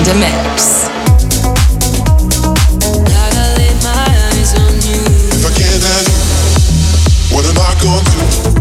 in the mix. If I can't have you, what am I gonna do?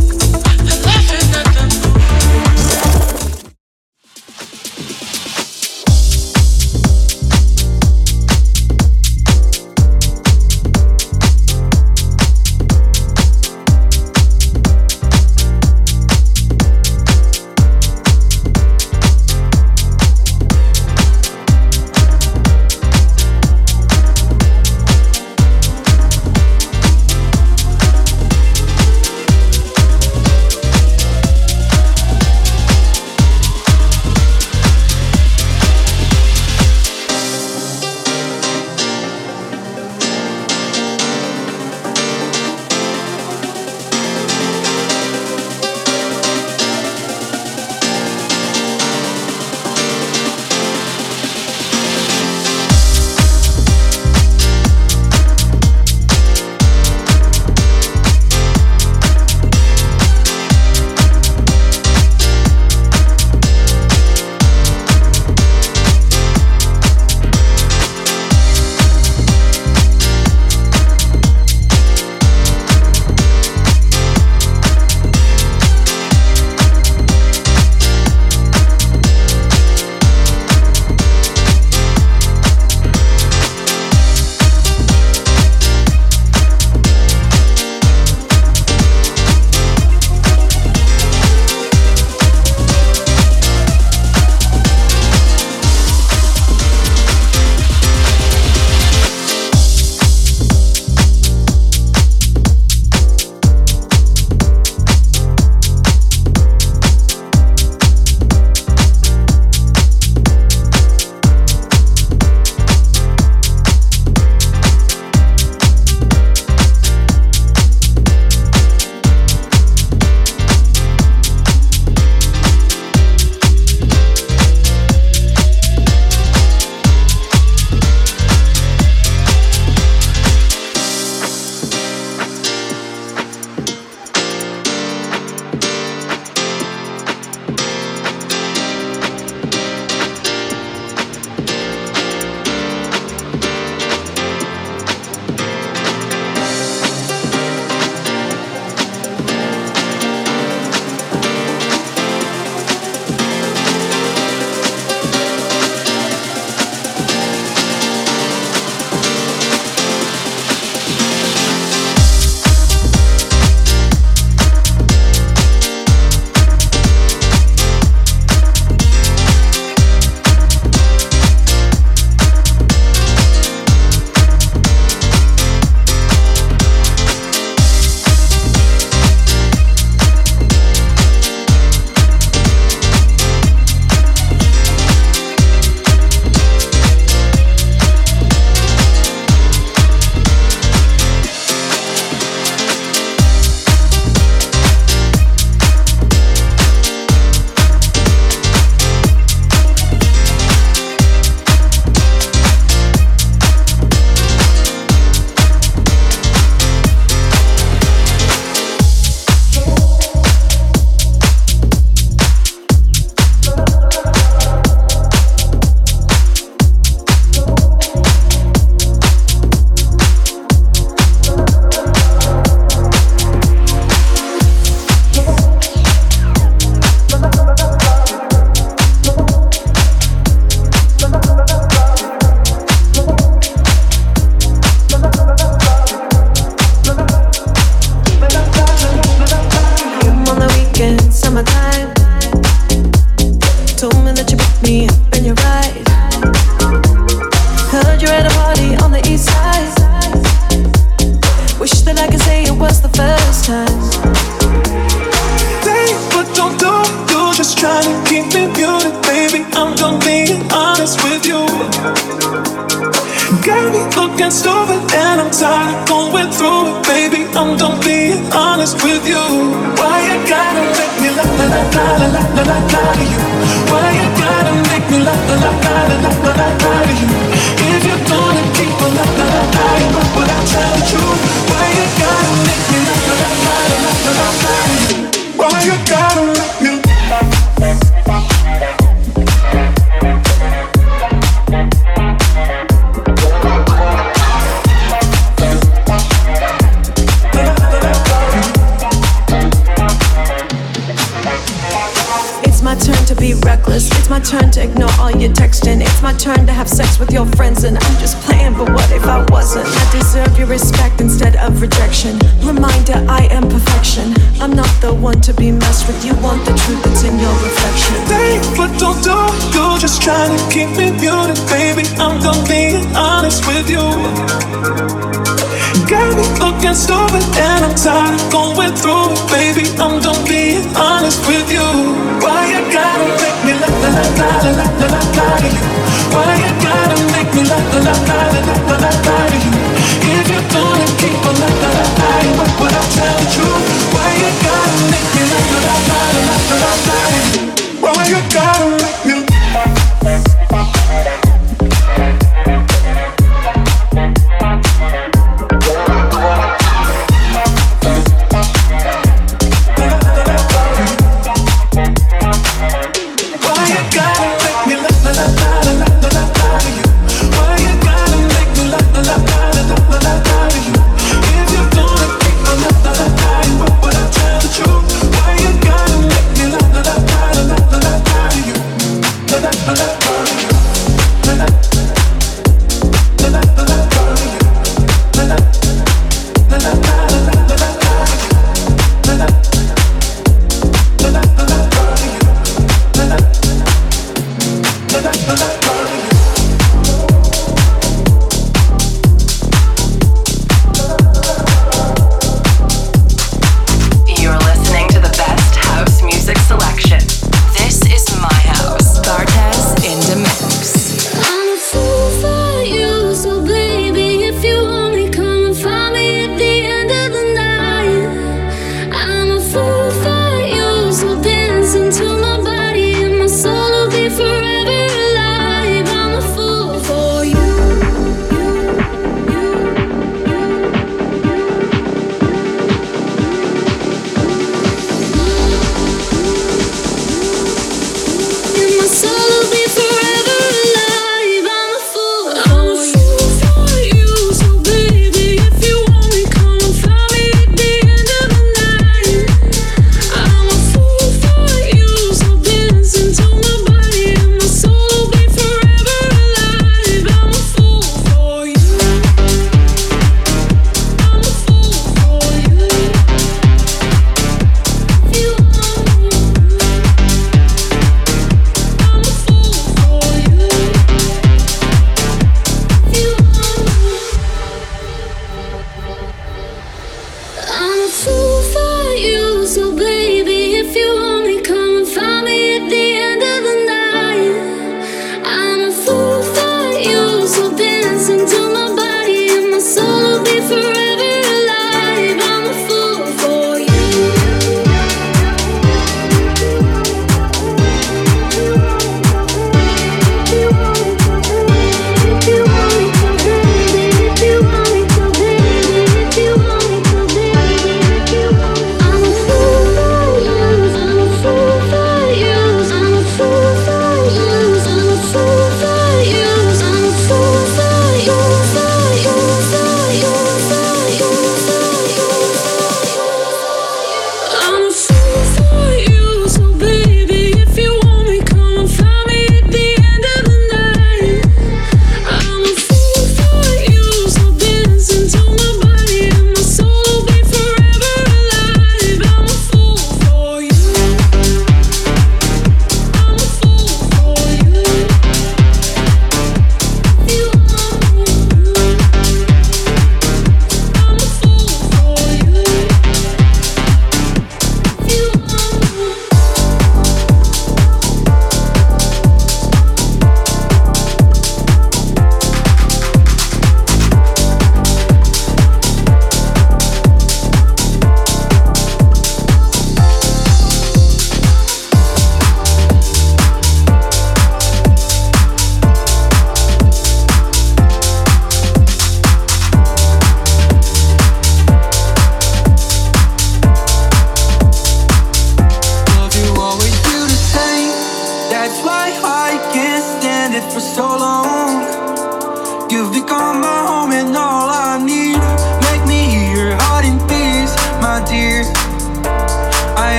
turn to ignore all your texting. It's my turn to have sex with your friends, and I'm just playing, but what if I wasn't? I deserve your respect instead of rejection. Reminder, I am perfection. I'm not the one to be messed with. You want the truth that's in your reflection. Think what don't do, you're just trying to keep me muted, baby. I'm done being honest with you. Got me looking stupid and I'm tired of going through it, baby. I'm done being honest with you. Why you gotta make me la la la la la la la la to you? Why you gotta make me la la la la la la la la to you? If you're gonna keep on la la la la, but I'll tell the truth. Why you gotta make me la la la la la la la la to you? Why you gotta make me?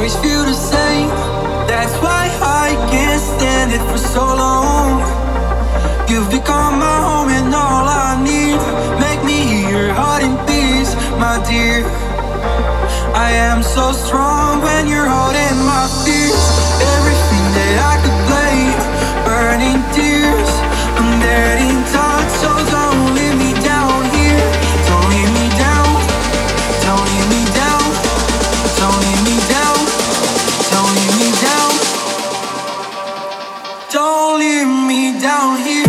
always feel the same. That's why I can't stand it for so long. You've become my home and all I need. Make me hear your heart in peace, my dear. I am so strong when you're holding my fears. Everything that I could blame, burning tears. I'm getting tired, so don't leave me down here. Don't leave me down. Don't leave me down. Don't leave me down. Don't leave me down. Don't leave me down here.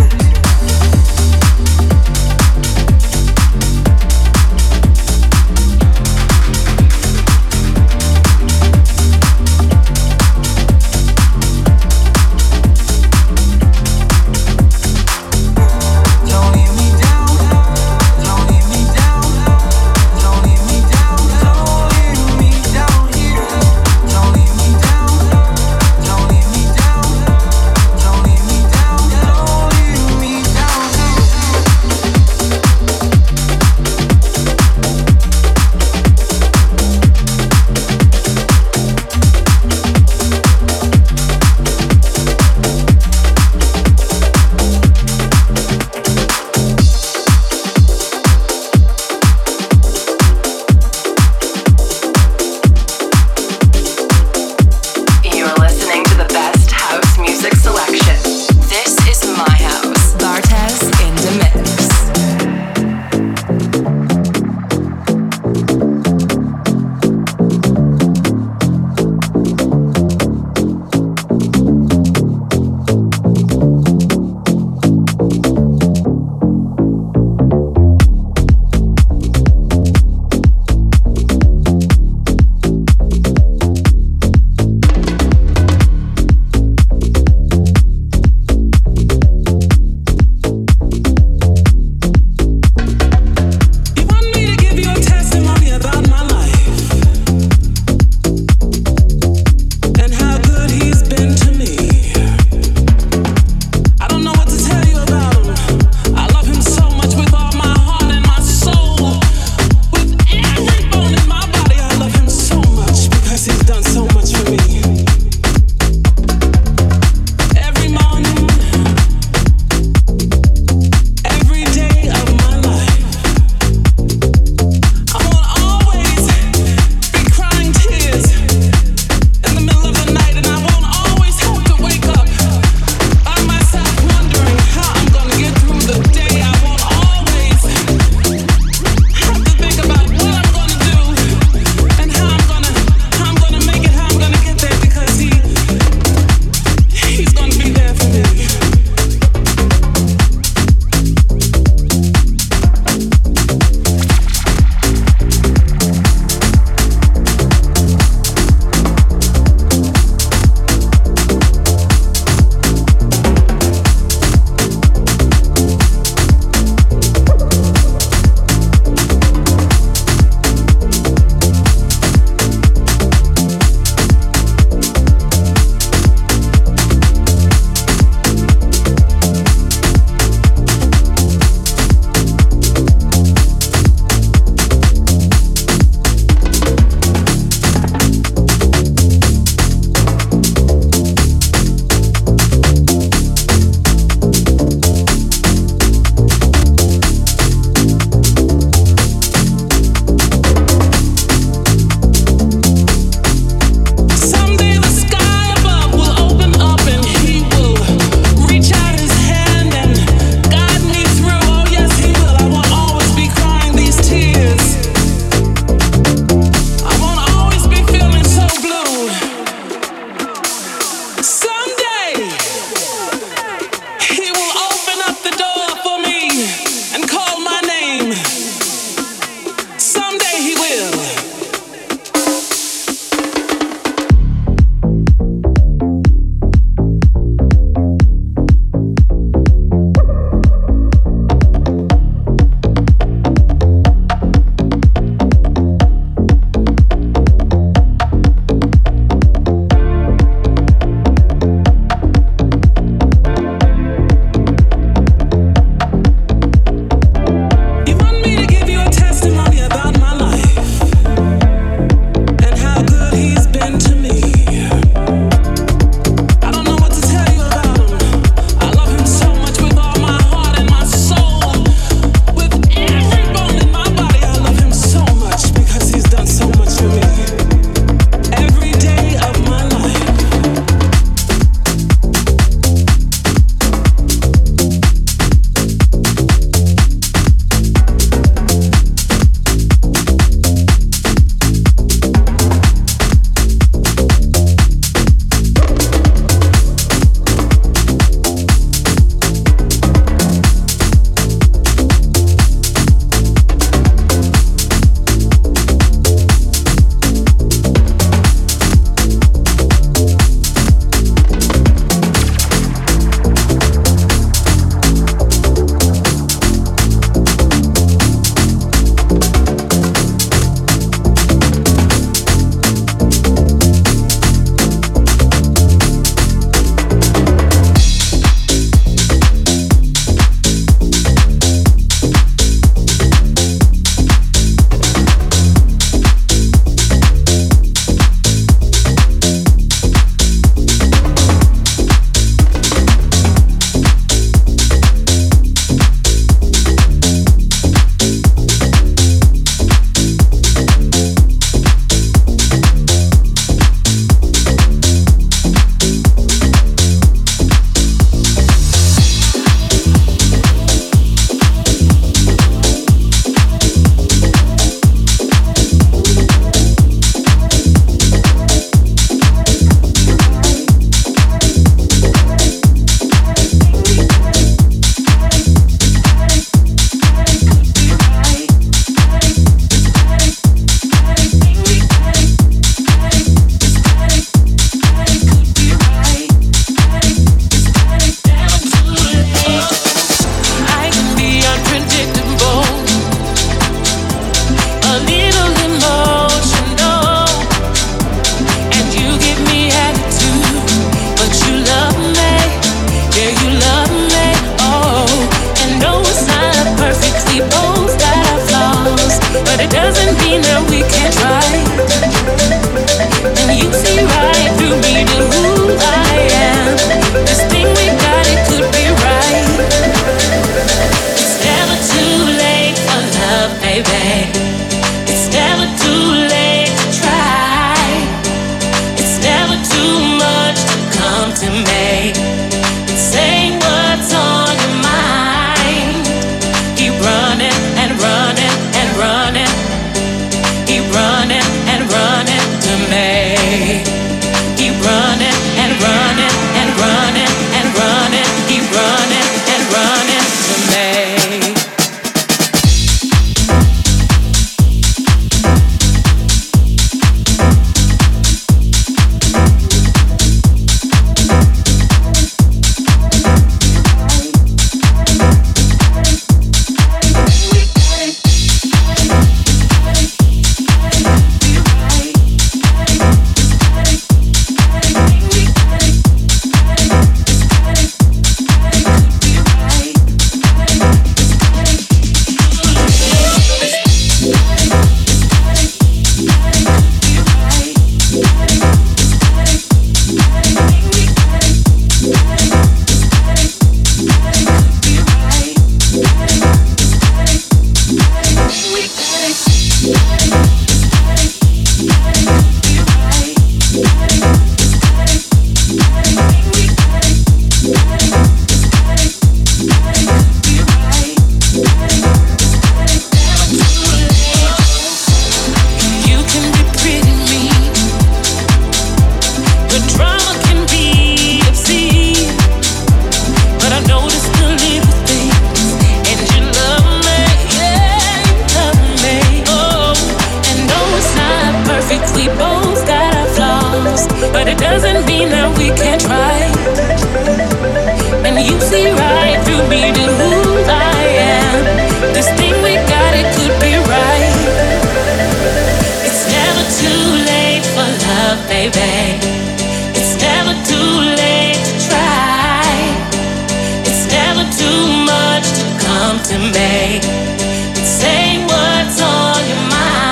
come to me. Say what's on your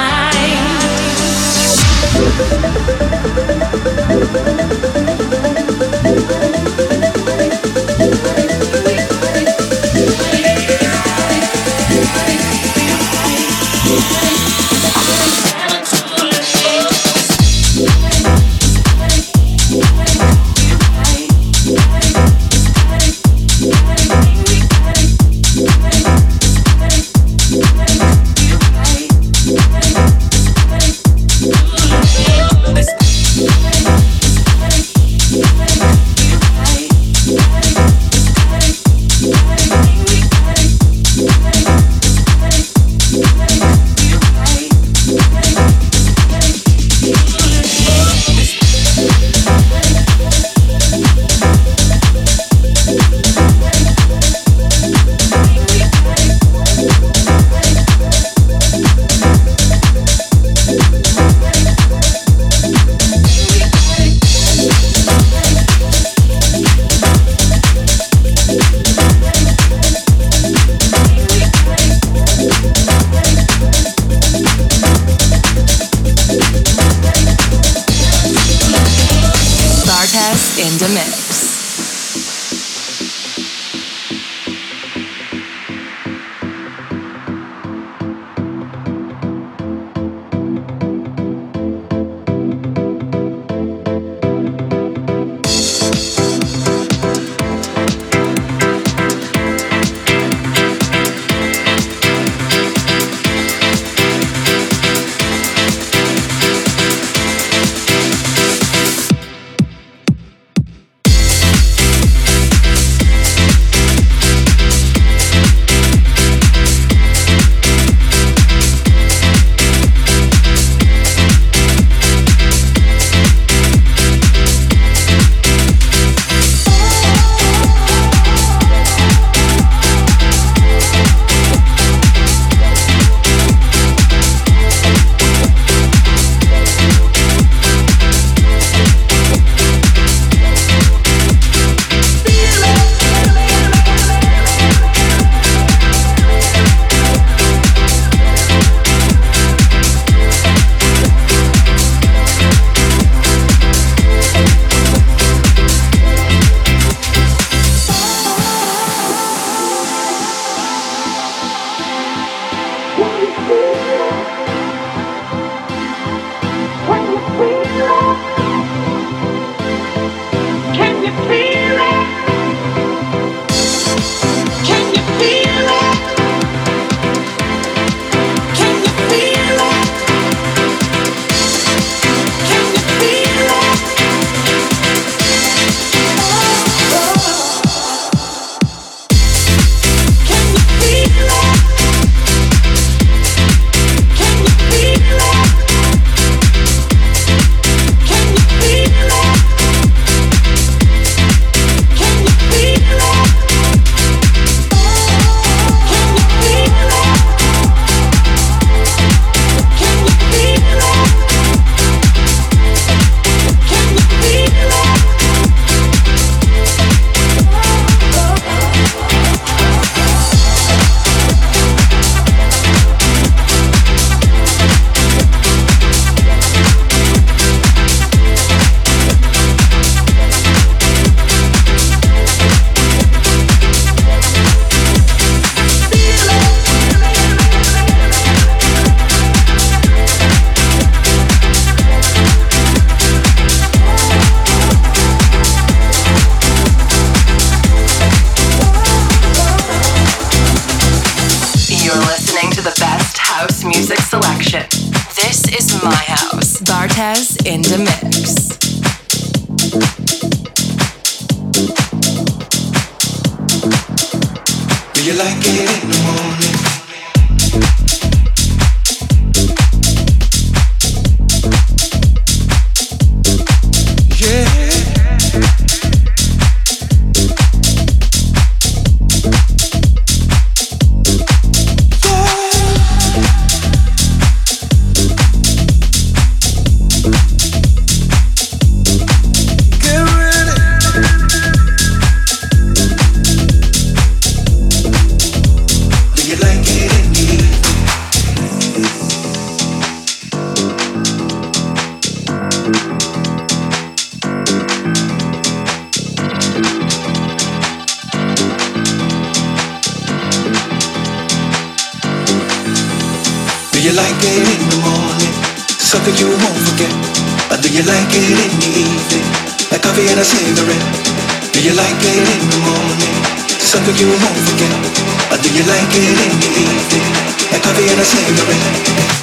in the mix. Bartez in the mix. Do you like it in the morning? you like it in the morning? Something you won't forget. Or do you like it in the evening? Like coffee and a cigarette. Do you like it in the morning? Something you won't forget. Or do you like it in the evening? Like coffee and a cigarette.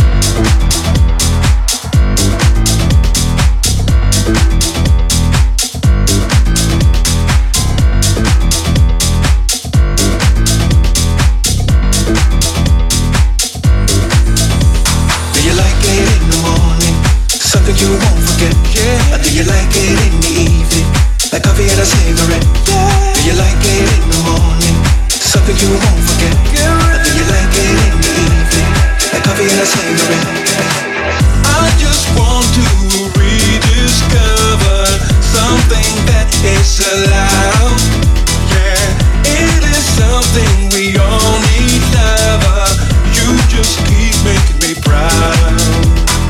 You won't forget, yeah. Or do you like it in the evening? Like coffee and a cigarette, yeah. Do you like it in the morning? Something you won't forget, yeah. Or do you like it in the evening? Like coffee and a cigarette. I just want to rediscover something that is allowed. Yeah, it is something we all need, lover. You just keep making me proud.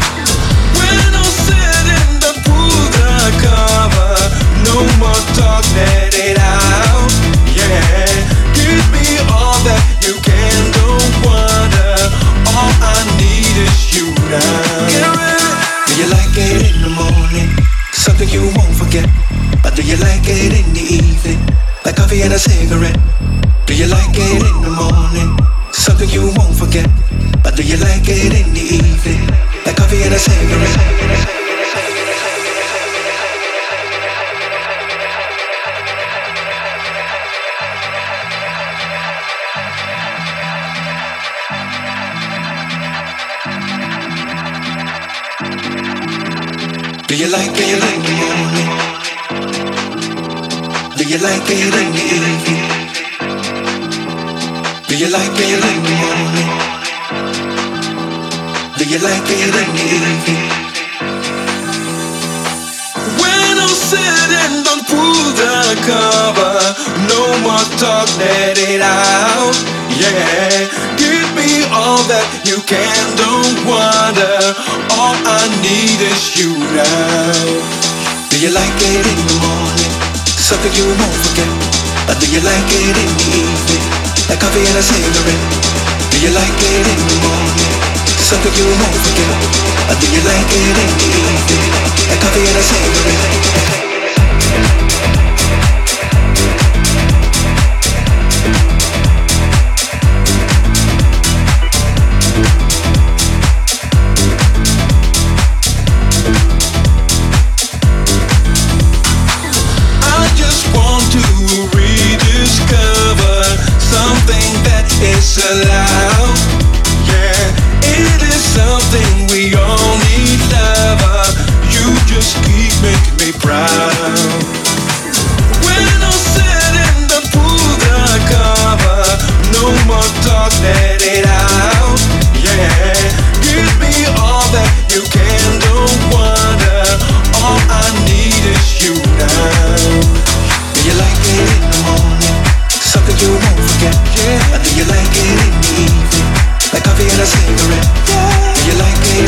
No more talk, let it out. Yeah, give me all that you can, don't wonder. All I need is you now. Get ready. Do you like it in the morning? Something you won't forget. Or do you like it in the evening? Like coffee and a cigarette. Do you like it in the morning? Something you won't forget. Or do you like it in the evening? Like coffee and a cigarette. Do you like it in the morning? Do you like it in the evening? Do you like it in the morning? Do you like it in the evening? When I'm sitting, don't pull the cover. No more talk, let it out. Yeah, give me all that you can, don't wonder. All I need is you now. Do you like it in the morning? Something you won't forget. Or do you like it in the evening? Like coffee and a cigarette. Do you like it in the morning? Something you won't forget. Or do you like it in the evening? Like coffee and a cigarette. It's allowed, yeah. It is something we all need, lover. You just keep making me proud. When I'm sitting, don't pull the cover. No more talk, let it out. Yeah, give me all that you can, don't wonder. All I need is you now. Do you like it in the morning? Something you won't forget, yeah. Or do you like it in the evening? Like coffee and a cigarette, yeah. Do you like it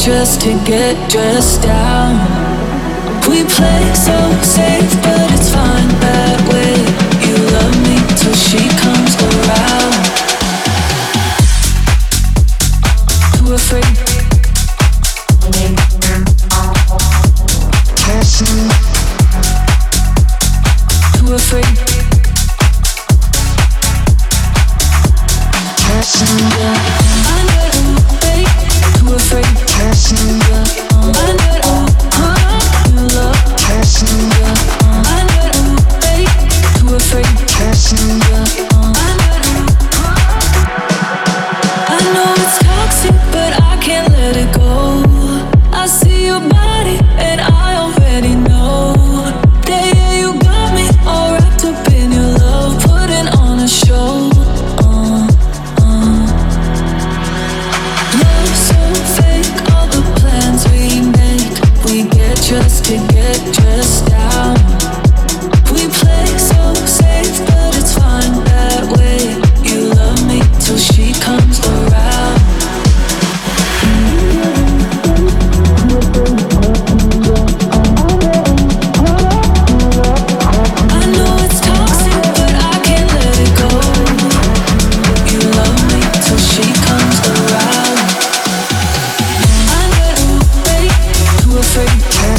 just to get dressed down. We play so safe, but it's fine that way. You love me till she comes around. Too afraid. Too afraid. Just to get dressed down. We play so safe, but it's fine that way. You love me till she comes around. I know it's toxic, but I can't let it go. You love me till she comes around. I know, babe, too afraid.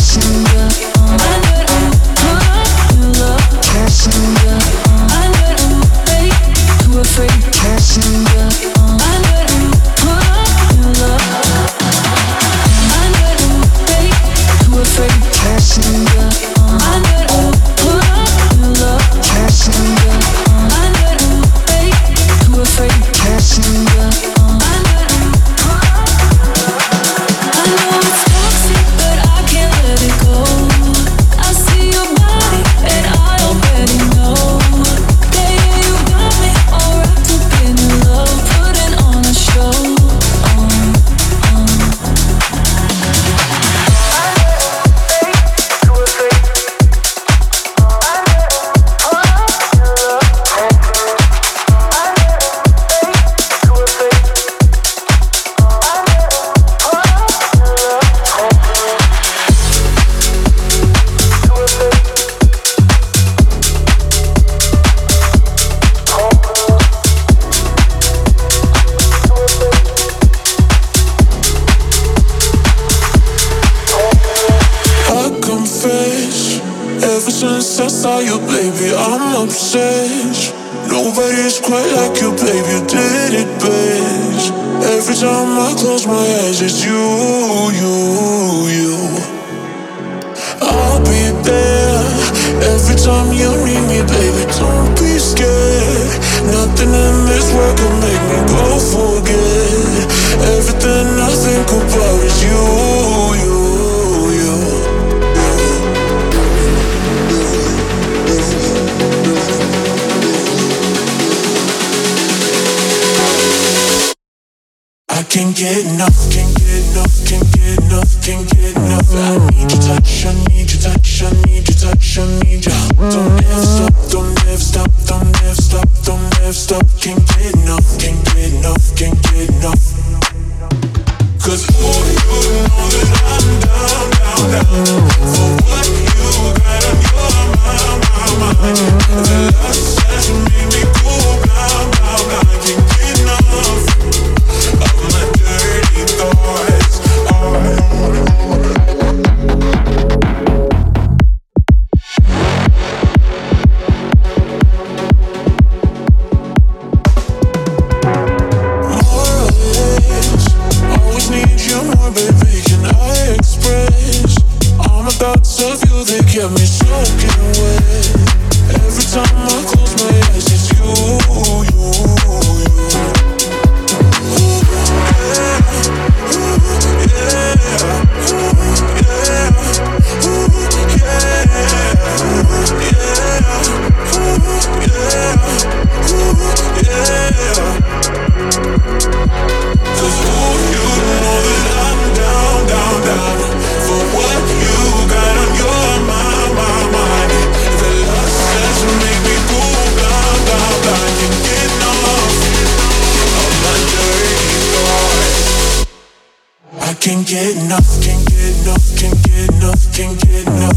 Nobody's quite like you, babe, you did it best. Every time I close my eyes, it's you. I'll be there every time you need me, baby, don't be scared. Nothing in this world can make me go forget. Everything I think about is you. Can't get enough, can't get enough, can't get enough, can't get enough. I need your touch, I need your touch, I need your touch, I need you. Don't ever stop, don't ever stop, don't ever stop, don't ever stop. Can't get enough, can't get enough, can't get enough. Cause oh, you know that I'm down, down, down for what you got on your mind. The last time you made me go down, down, down. I can't get enough of my dirty thoughts.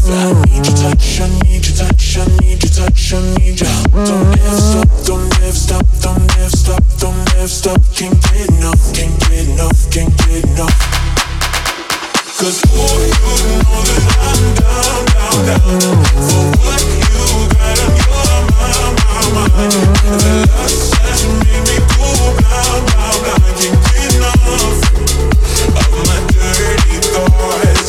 enough. I need your touch, I need your touch, I need your touch, I need ya. Don't ever stop, don't ever stop, don't ever stop, don't ever stop. Can't get enough, can't get enough, can't get enough. 'Cause boy, you know that I'm down, down, down for what you got on your mind. The lust that you made me go blind, blind, blind. Can't get enough of my dirty thoughts.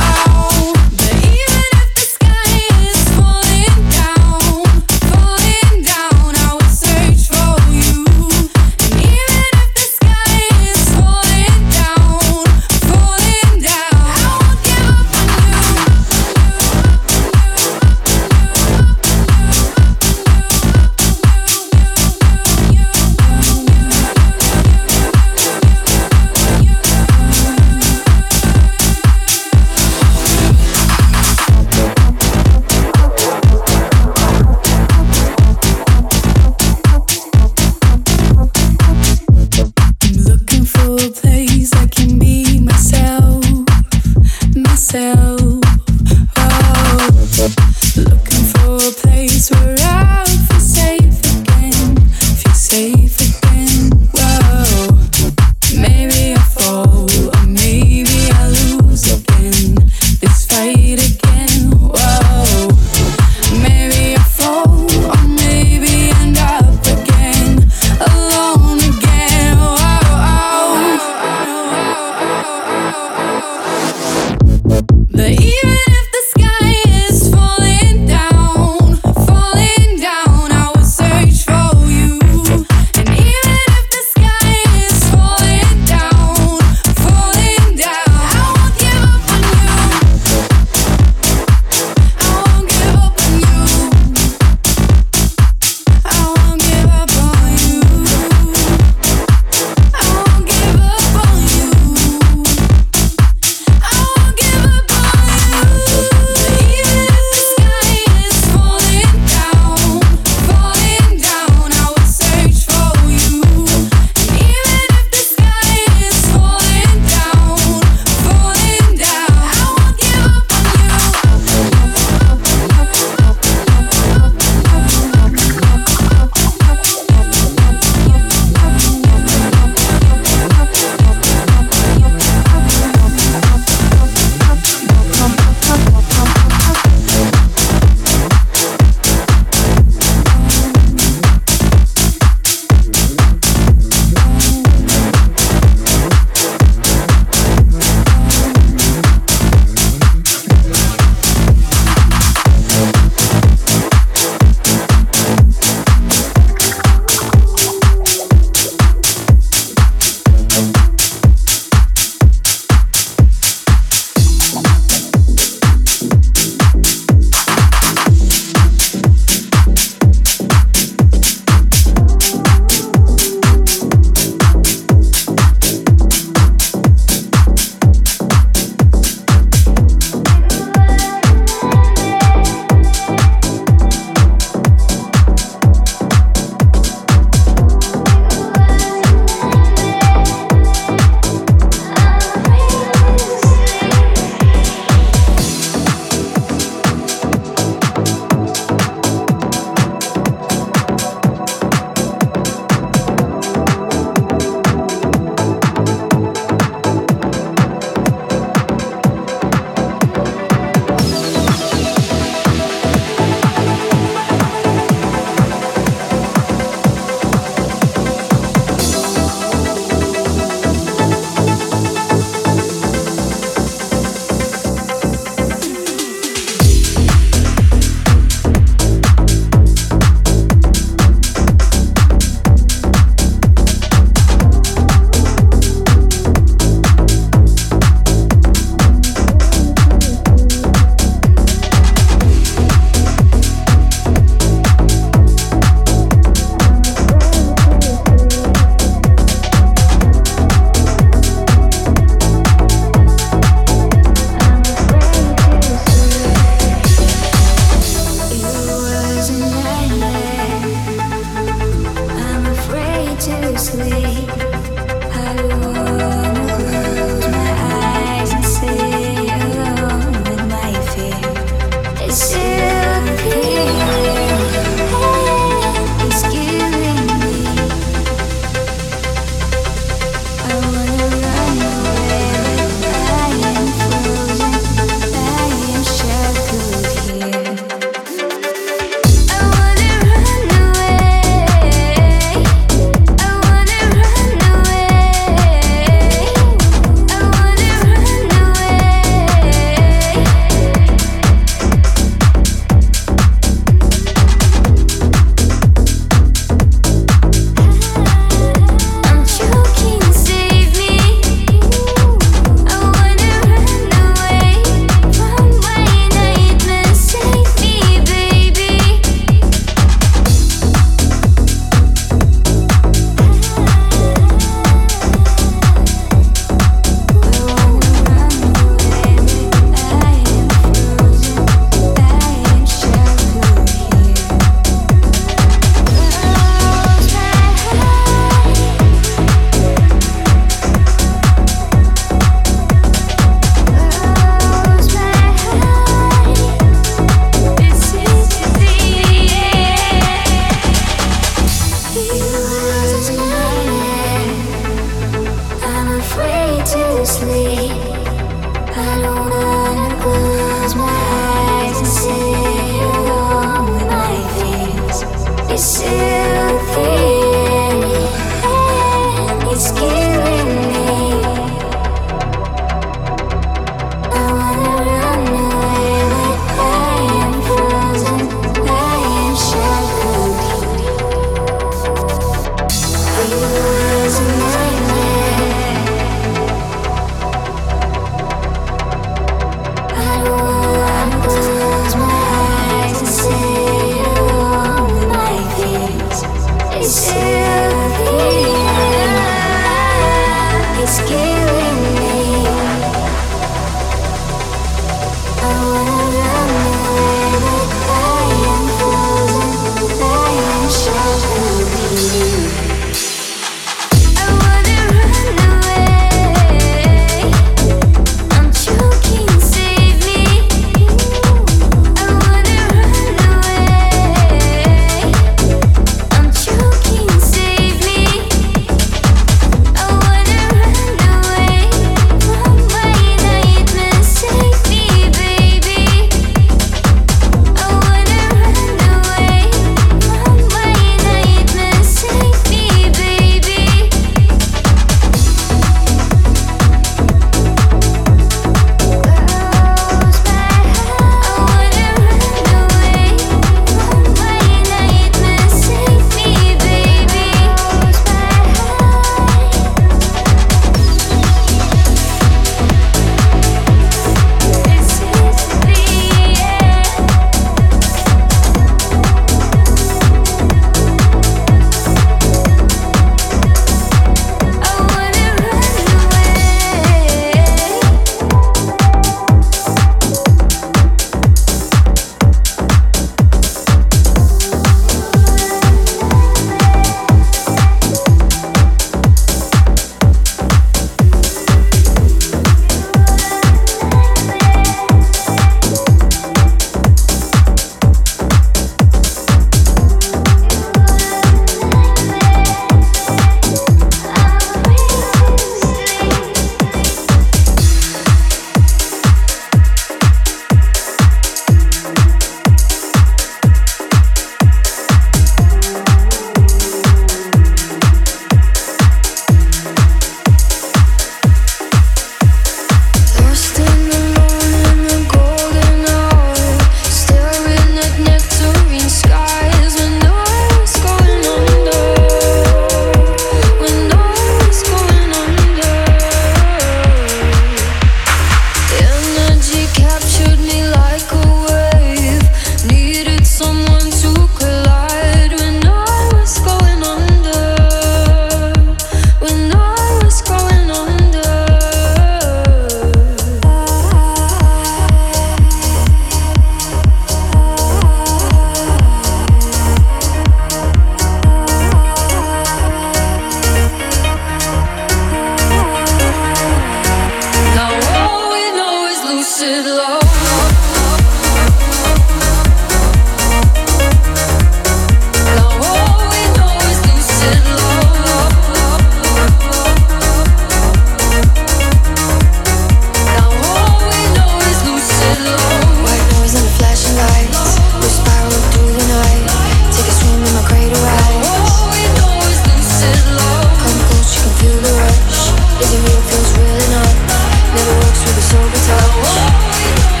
Is it real? Feels real enough. Never works with a sober touch.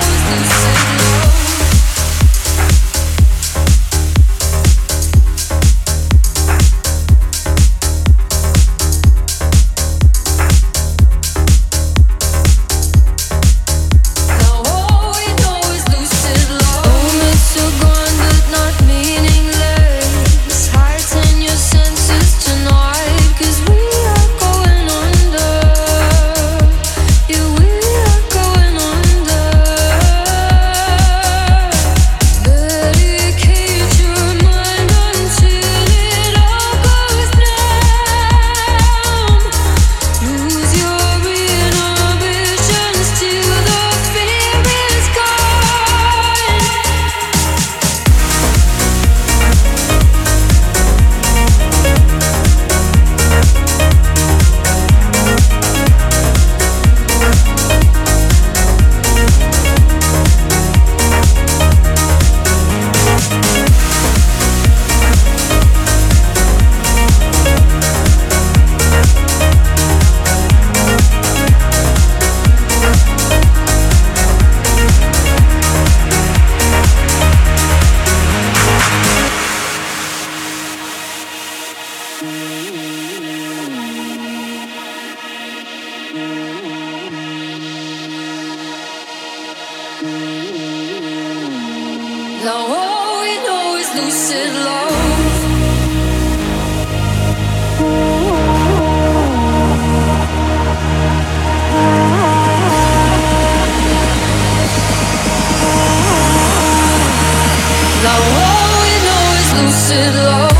Now all we know is lucid love. Now all we know is lucid love.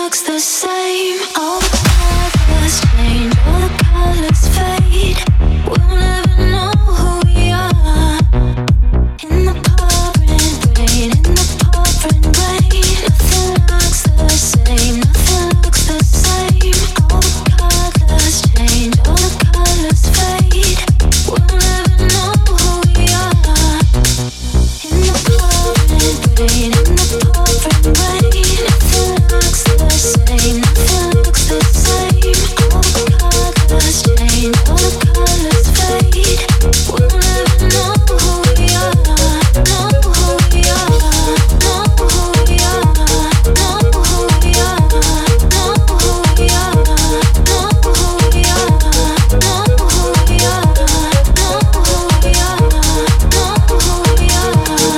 looks the same. All the colors change, all the colors fade. We'll never know who we are. In the pouring rain, in the pouring rain, nothing looks the same, nothing looks the same. All the colors change, all the colors fade. We'll never know who we are. In the pouring rain, in the pouring rain, nothing looks the same, nothing looks the same. All the colors change, all the colors fade. We'll never know who we are, know who we are, know who we are, know who we are, know who we are, know who we are, know who we are, know who we are, know who we are.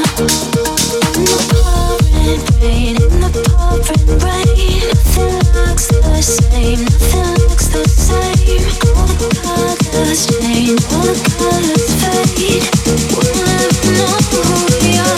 In the pouring rain, in the pouring rain, nothing looks the same, nothing looks the same. All the colors change, all the colors fade. We'll never know who we are.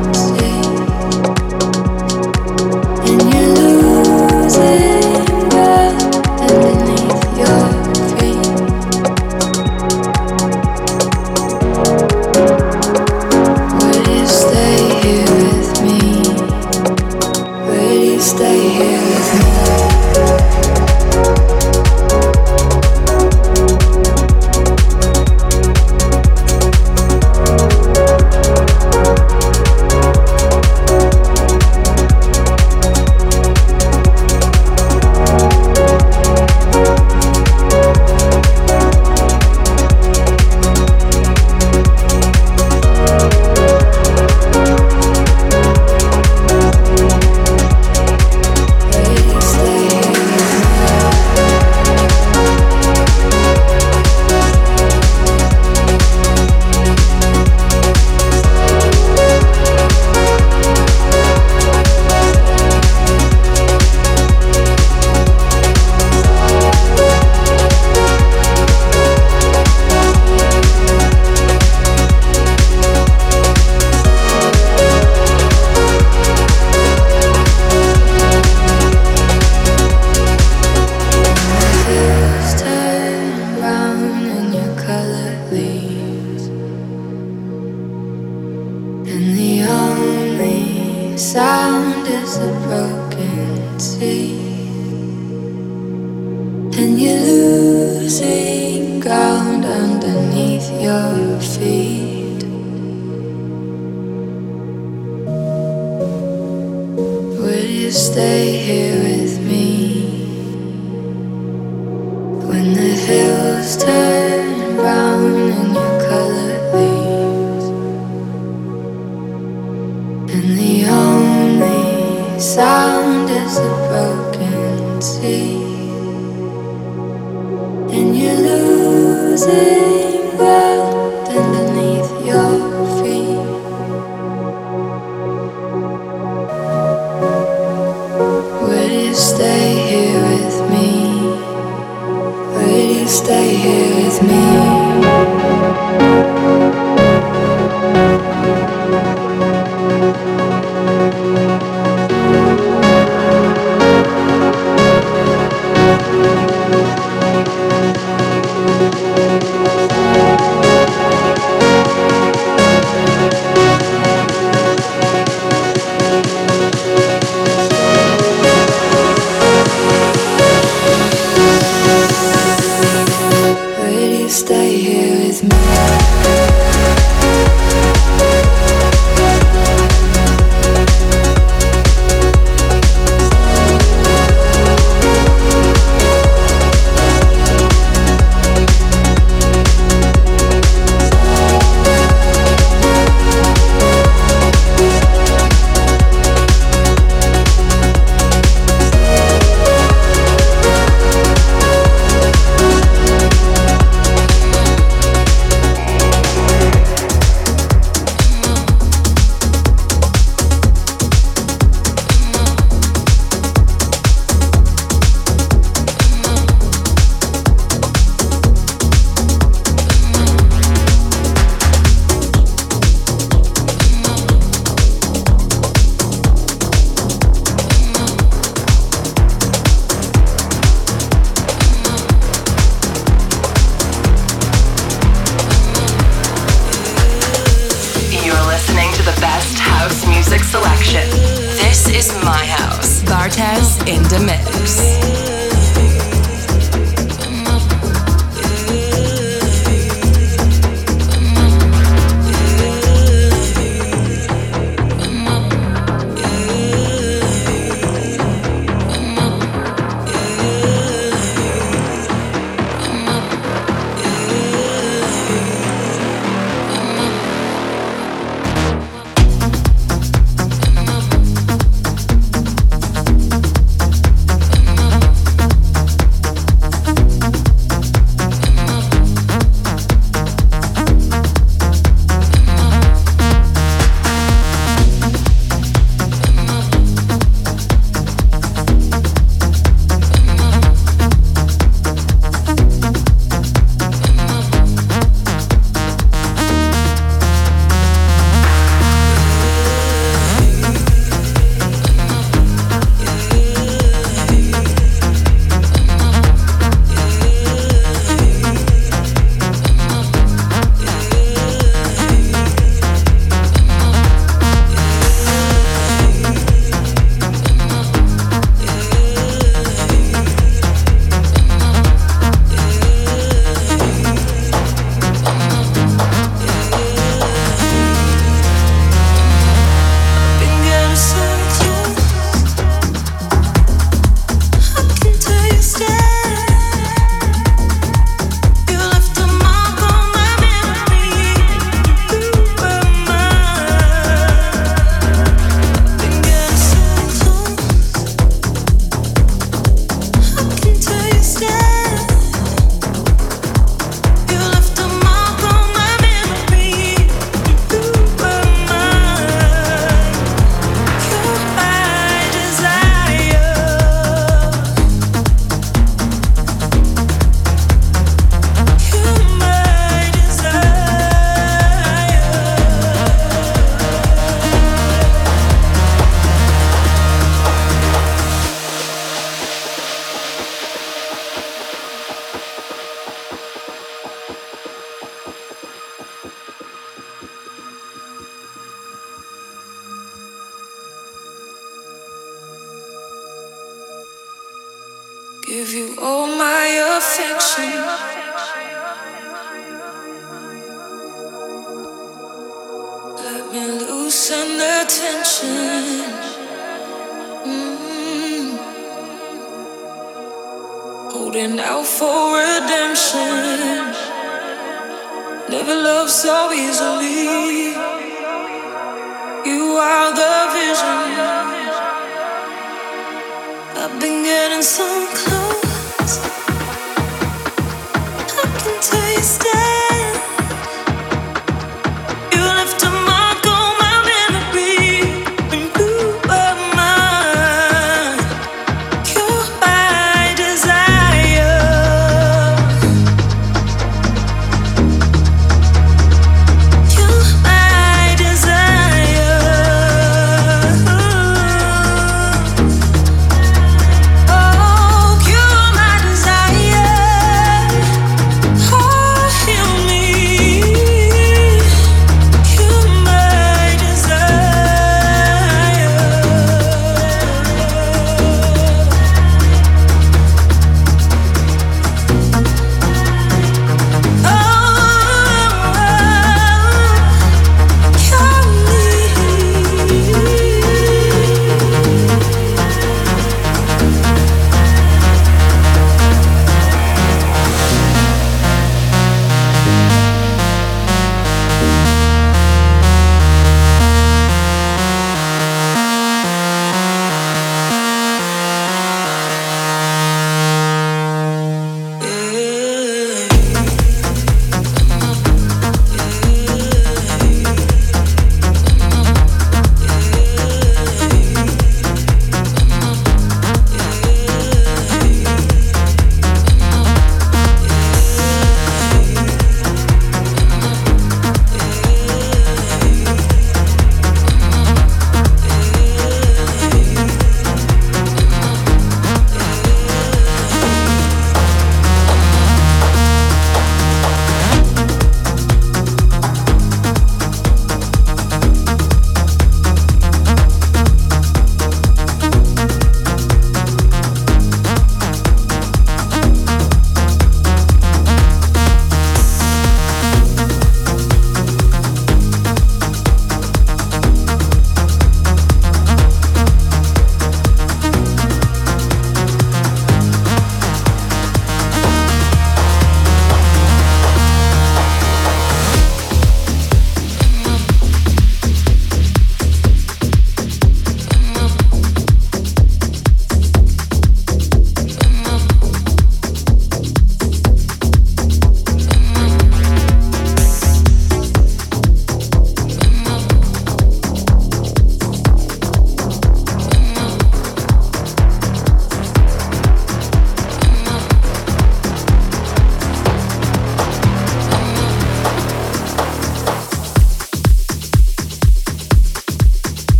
And you lose it. sound is a broken sea, and you're losing ground underneath your feet. Will you stay here with me when the hills turn brown and your color leaves, and the only sound is a broken sea, and you're losing ground underneath your feet? Will you stay here with me? Will you stay here with me? Stay here with me. Give you all my affection. Let me loosen the tension. Holding out for redemption. Never loved so easily. You are the vision. I've been getting so close.